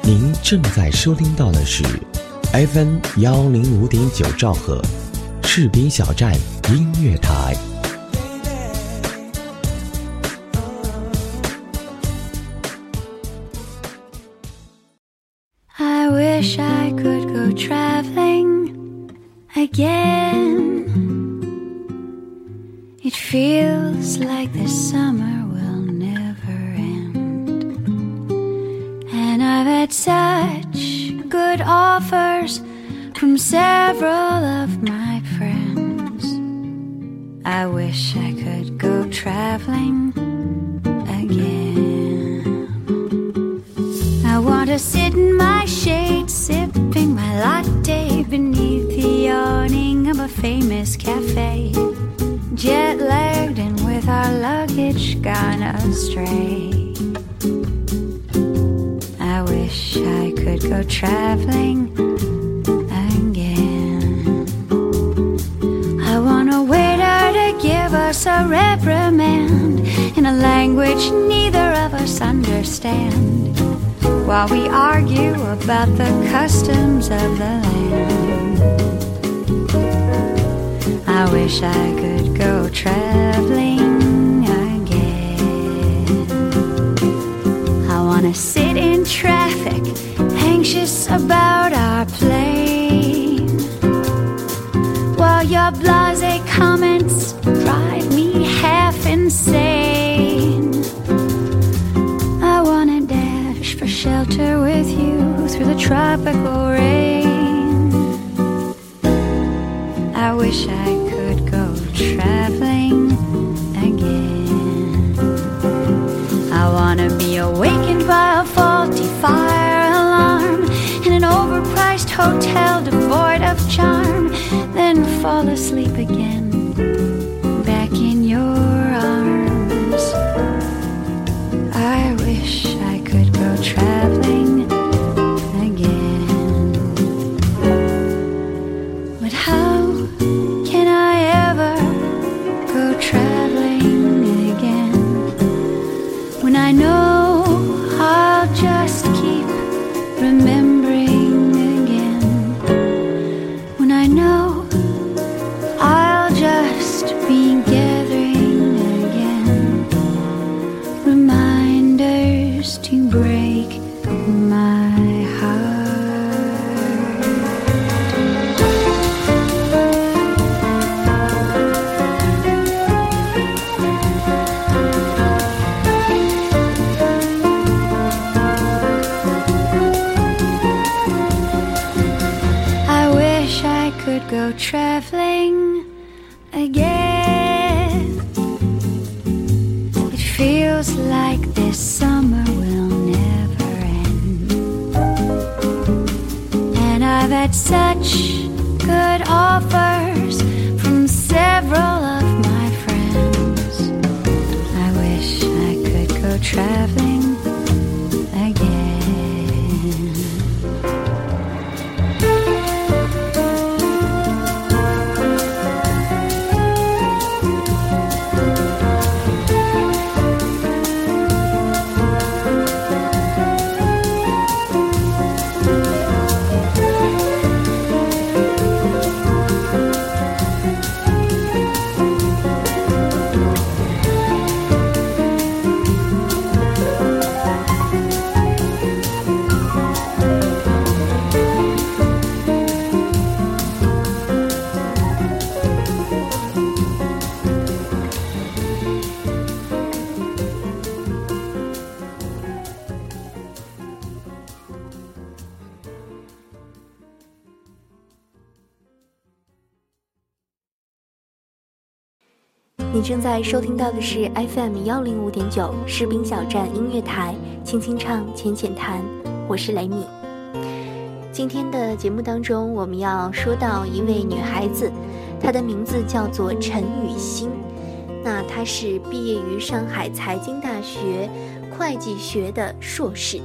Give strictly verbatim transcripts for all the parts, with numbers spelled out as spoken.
您正在收听到的是 F M 幺零五点九兆赫士兵小站音乐台。 I wish I could go traveling again. It feels like the summer will never end. And I've had such good offers from several of my friends. I wish I could go traveling again. I want to sit in my shade, sipping my latte beneath the awning of a famous cafe, jet-lagged and with our luggage gone astray. I wish I could go traveling again. I want a waiter to give us a reprimand in a language neither of us understand, while we argue about the customs of the land. I wish I could go traveling again. I wanna sit in traffic, anxious about our plane, while your blasé comments drive me half insane. I wanna dash for shelter with you through the tropical rain. I wish I could go traveling again. I wanna be awakened by a faulty fire alarm in an overpriced hotel devoid of charm, then fall asleep again back in your arms. I wish I could go traveling again. But how can I ever go traveling again when I know I'll just keep remembering again, when I know I'll just be gathering again reminders to break my heart. I wish I could go traveling again. It feels like this summer will never end. And I've had such good offers from several of my friends. I wish I could go traveling again. 你正在收听到的是 F M 幺零五点九士兵小站音乐台，轻轻唱，浅浅谈，我是雷米。今天的节目当中，我们要说到一位女孩子，她的名字叫做陈雨欣。那她是毕业于上海财经大学会计学的硕士。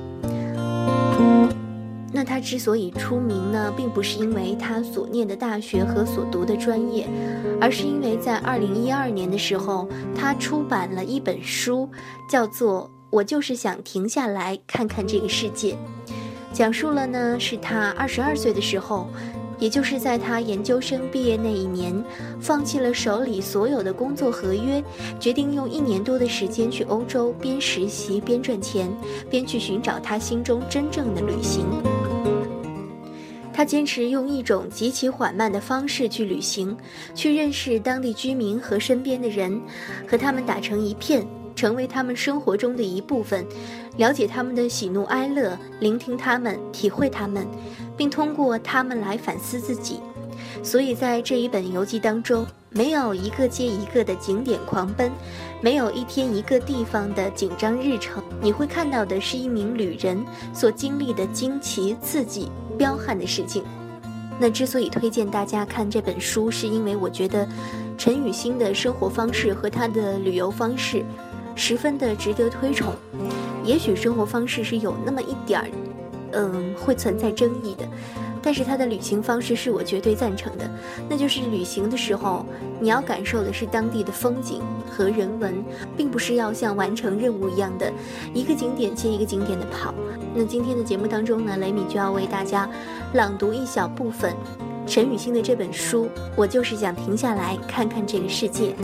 那他之所以出名呢，并不是因为他所念的大学和所读的专业，而是因为在二零一二年的时候，他出版了一本书，叫做《我就是想停下来看看这个世界》。 讲述了呢是他二十二岁的时候，也就是在他研究生毕业那一年，放弃了手里所有的工作合约，决定用一年多的时间去欧洲，边实习边赚钱，边去寻找他心中真正的旅行。他坚持用一种极其缓慢的方式去旅行，去认识当地居民和身边的人，和他们打成一片，成为他们生活中的一部分，了解他们的喜怒哀乐，聆听他们，体会他们，并通过他们来反思自己。所以在这一本游记当中，没有一个接一个的景点狂奔，没有一天一个地方的紧张日程，你会看到的是一名旅人所经历的惊奇、刺激、彪悍的事情。那之所以推荐大家看这本书，是因为我觉得陈雨欣的生活方式和他的旅游方式十分的值得推崇。也许生活方式是有那么一点儿嗯，会存在争议的，但是他的旅行方式是我绝对赞成的。那就是旅行的时候，你要感受的是当地的风景和人文，并不是要像完成任务一样的一个景点接一个景点的跑。那今天的节目当中呢，雷米就要为大家朗读一小部分陈雨欣的这本书，我就是想停下来看看这个世界。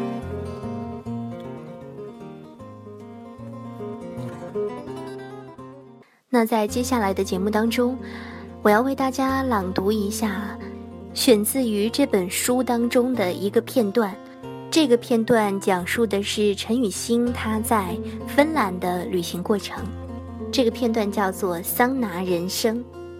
那在接下来的节目当中，我要为大家朗读一下选自于这本书当中的一个片段。这个片段讲述的是陈雨欣她在芬兰的旅行过程。这个片段叫做桑拿人生。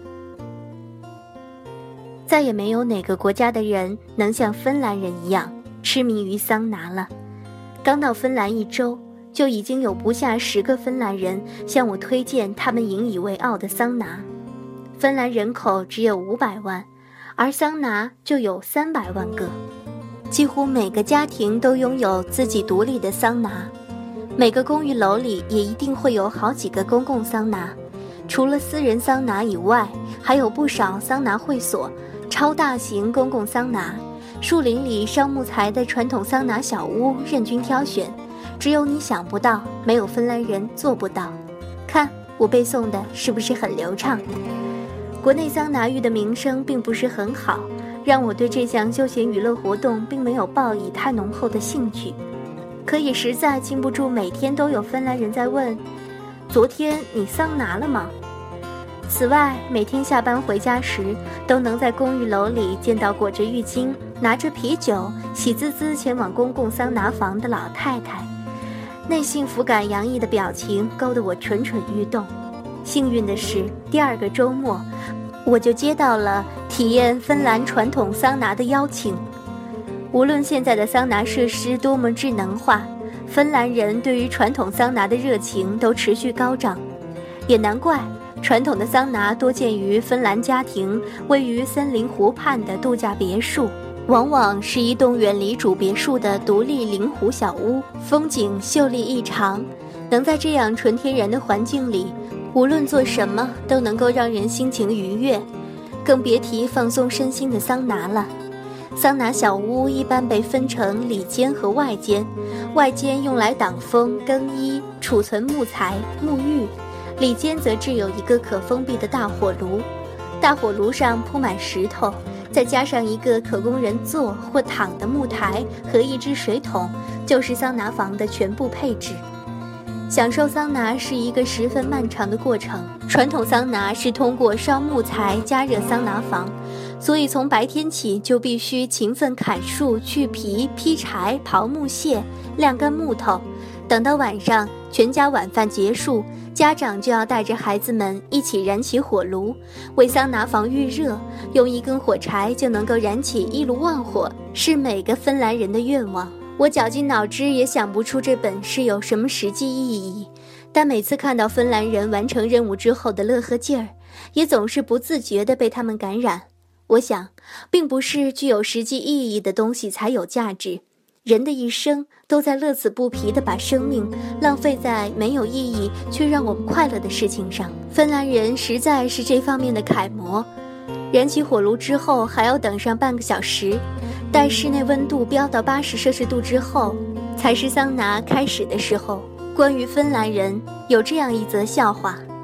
再也没有哪个国家的人能像芬兰人一样痴迷于桑拿了。刚到芬兰一周，就已经有不下十个芬兰人向我推荐他们引以为傲的桑拿。芬兰人口只有五百万，而桑拿就有三百万个。几乎每个家庭都拥有自己独立的桑拿，每个公寓楼里也一定会有好几个公共桑拿。除了私人桑拿以外，还有不少桑拿会所、超大型公共桑拿、树林里烧木材的传统桑拿小屋任君挑选。只有你想不到，没有芬兰人做不到。看我背诵的是不是很流畅？国内桑拿浴的名声并不是很好，让我对这项休闲娱乐活动并没有抱以太浓厚的兴趣。可也实在禁不住每天都有芬兰人在问，昨天你桑拿了吗？此外，每天下班回家时，都能在公寓楼里见到裹着浴巾、拿着啤酒、喜滋滋前往公共桑拿房的老太太。那幸福感洋溢的表情勾得我蠢蠢欲动。幸运的是，第二个周末，我就接到了体验芬兰传统桑拿的邀请。无论现在的桑拿设施多么智能化，芬兰人对于传统桑拿的热情都持续高涨。也难怪，传统的桑拿多见于芬兰家庭位于森林湖畔的度假别墅，往往是一栋远离主别墅的独立临湖小屋，风景秀丽异常。能在这样纯天然的环境里，无论做什么都能够让人心情愉悦，更别提放松身心的桑拿了。桑拿小屋一般被分成里间和外间，外间用来挡风、更衣、储存木材、沐浴，里间则置有一个可封闭的大火炉，大火炉上铺满石头，再加上一个可供人坐或躺的木台和一只水桶，就是桑拿房的全部配置。享受桑拿是一个十分漫长的过程，传统桑拿是通过烧木材加热桑拿房，所以从白天起就必须勤奋砍树、去皮、劈柴、刨木屑、晾干木头，等到晚上全家晚饭结束，家长就要带着孩子们一起燃起火炉，为桑拿房预热，用一根火柴就能够燃起一炉旺火，是每个芬兰人的愿望。我绞尽脑汁也想不出这本是有什么实际意义，但每次看到芬兰人完成任务之后的乐呵劲儿，也总是不自觉地被他们感染。我想，并不是具有实际意义的东西才有价值，人的一生都在乐此不疲地把生命浪费在没有意义却让我们快乐的事情上。芬兰人实在是这方面的楷模。燃起火炉之后还要等上半个小时，待室内温度飙到八十摄氏度之后，才是桑拿开始的时候。关于芬兰人，有这样一则笑话，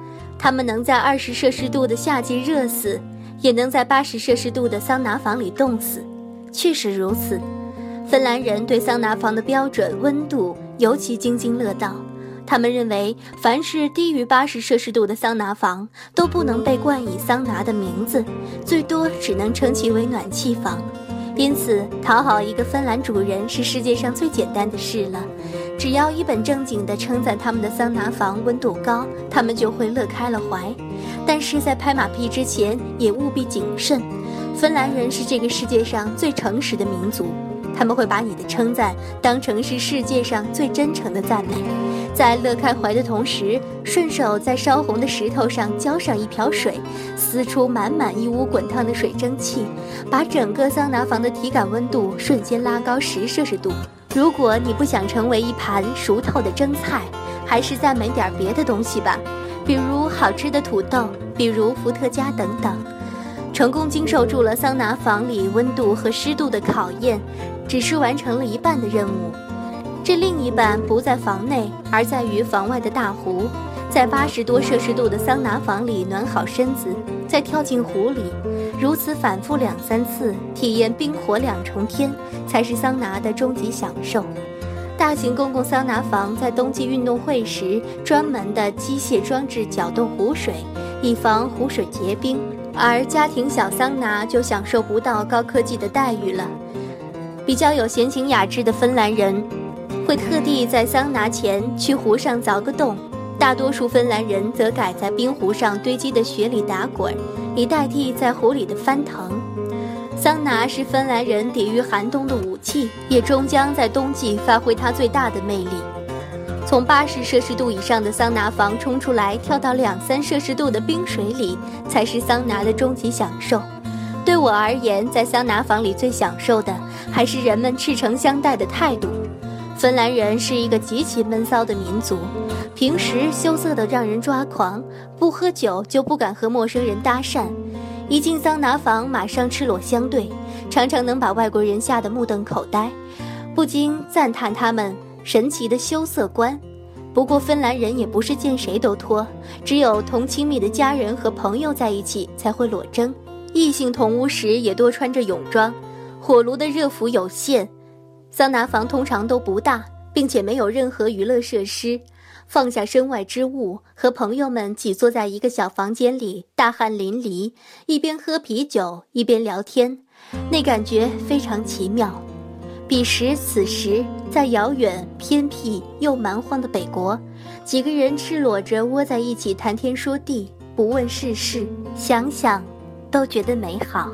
他们能在二十摄氏度的夏季热死，也能在八十摄氏度的桑拿房里冻死。确实如此，芬兰人对桑拿房的标准温度尤其津津乐道。他们认为，凡是低于八十摄氏度的桑拿房都不能被冠以桑拿的名字，最多只能称其为暖气房。因此，讨好一个芬兰主人是世界上最简单的事了。只要一本正经地称赞他们的桑拿房温度高，他们就会乐开了怀。但是在拍马屁之前，也务必谨慎。芬兰人是这个世界上最诚实的民族，他们会把你的称赞当成是世界上最真诚的赞美，在乐开怀的同时，顺手在烧红的石头上浇上一瓢水，撕出满满一屋滚烫的水蒸气，把整个桑拿房的体感温度瞬间拉高十摄氏度。如果你不想成为一盘熟透的蒸菜，还是赞美点别的东西吧，比如好吃的土豆，比如伏特加等等。成功经受住了桑拿房里温度和湿度的考验，只是完成了一半的任务。这另一半不在房内，而在于房外的大湖。在八十多摄氏度的桑拿房里暖好身子，再跳进湖里，如此反复两三次，体验冰火两重天，才是桑拿的终极享受。大型公共桑拿房在冬季运动会时，专门的机械装置搅动湖水，以防湖水结冰，而家庭小桑拿就享受不到高科技的待遇了。比较有闲情雅致的芬兰人会特地在桑拿前去湖上凿个洞，大多数芬兰人则改在冰湖上堆积的雪里打滚，以代替在湖里的翻腾。桑拿是芬兰人抵御寒冬的武器，也终将在冬季发挥它最大的魅力。从八十摄氏度以上的桑拿房冲出来，跳到两三摄氏度的冰水里，才是桑拿的终极享受。对我而言，在桑拿房里最享受的还是人们赤诚相待的态度。芬兰人是一个极其闷骚的民族，平时羞涩得让人抓狂，不喝酒就不敢和陌生人搭讪，一进桑拿房马上赤裸相对，常常能把外国人吓得目瞪口呆，不禁赞叹他们神奇的羞涩观。不过芬兰人也不是见谁都脱，只有同亲密的家人和朋友在一起才会裸征，异性同屋时也多穿着泳装。火炉的热伏有限，桑拿房通常都不大，并且没有任何娱乐设施。放下身外之物，和朋友们挤坐在一个小房间里，大汗淋漓，一边喝啤酒一边聊天，那感觉非常奇妙。彼时此时，在遥远偏僻又蛮荒的北国，几个人赤裸着窝在一起谈天说地，不问世事，想想都觉得美好。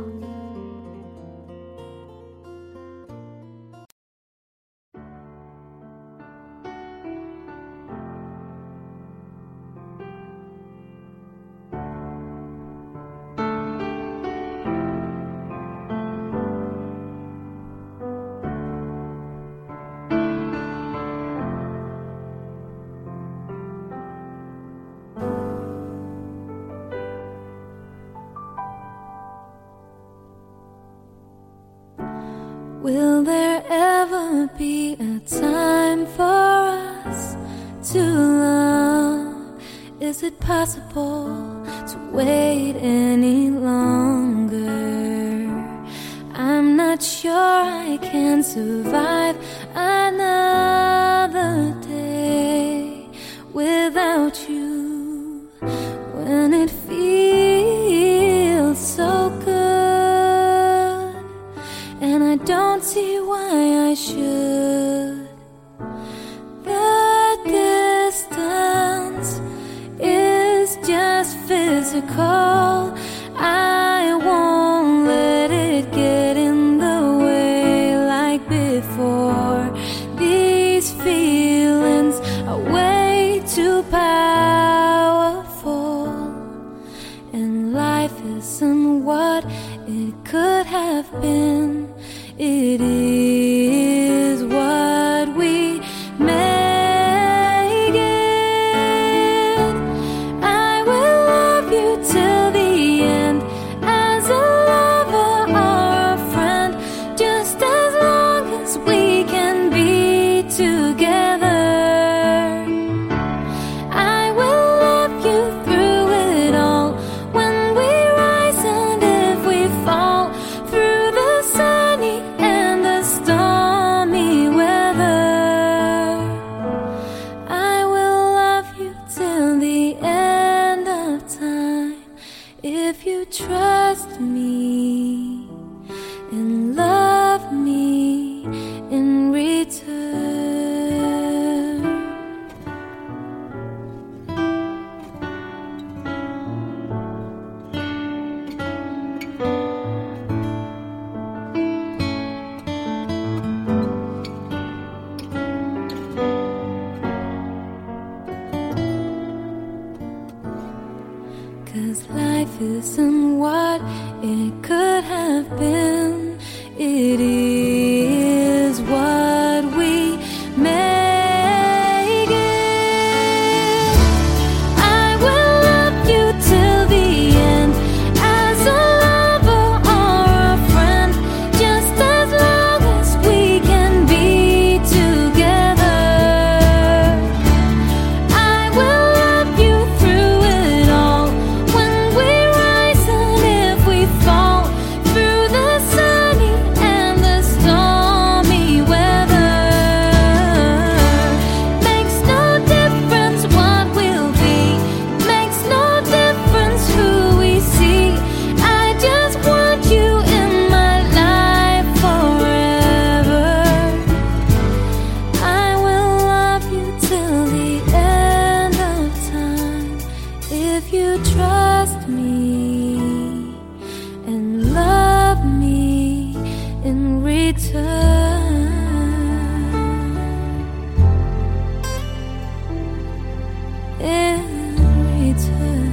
Will there ever be a time for us to love? Is it possible to wait any longer? I'm not sure I can survive another day without you, when it feels so good. And I don't see why I should. The distance is just physical. I won't let it get in the way like before. These feelings are way too powerful, and life isn't what it could have been. It is what we make it. I will love you till 'cause life isn't what it could have been. It is what we make it. I will love you till the end, as a lover or a friend, just as long as we can be together. I will love you through it all, when we rise and if we fall, through the sunny and the stormy weather. Makes no difference what we'll be, makes no difference who we see. I just want you in my life forever. I will love you till the end of time, if you trust me and love me in return. In return.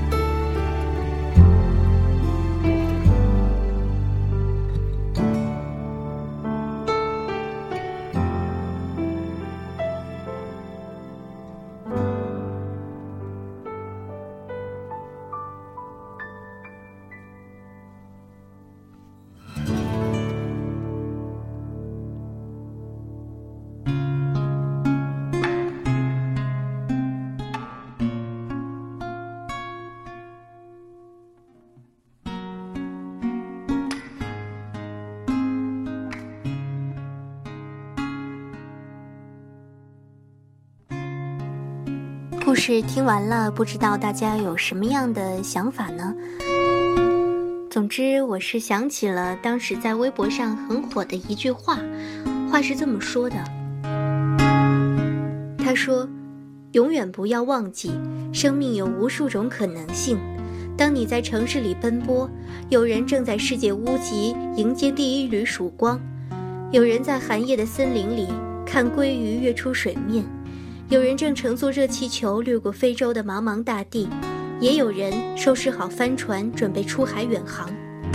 故事听完了，不知道大家有什么样的想法呢？总之，我是想起了当时在微博上很火的一句话，话是这么说的。他说，永远不要忘记，生命有无数种可能性。当你在城市里奔波，有人正在世界屋脊迎接第一缕曙光，有人在寒夜的森林里看鲑鱼跃出水面，有人正乘坐热气球掠过非洲的茫茫大地，也有人收拾好帆船准备出海远航。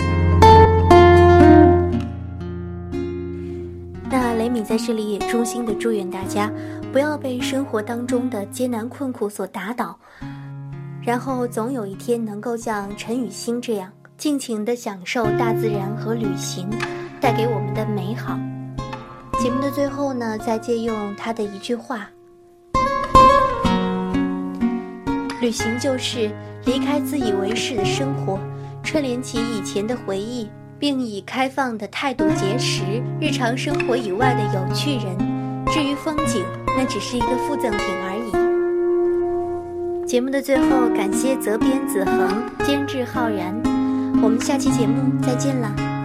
那雷米在这里也衷心的祝愿大家不要被生活当中的艰难困苦所打倒，然后总有一天能够像陈雨欣这样尽情地享受大自然和旅行带给我们的美好。节目的最后呢，再借用他的一句话，旅行就是离开自以为是的生活，串联起以前的回忆，并以开放的态度结识日常生活以外的有趣人。至于风景，那只是一个附赠品而已。节目的最后，感谢责编子恒，监制浩然。我们下期节目再见啦。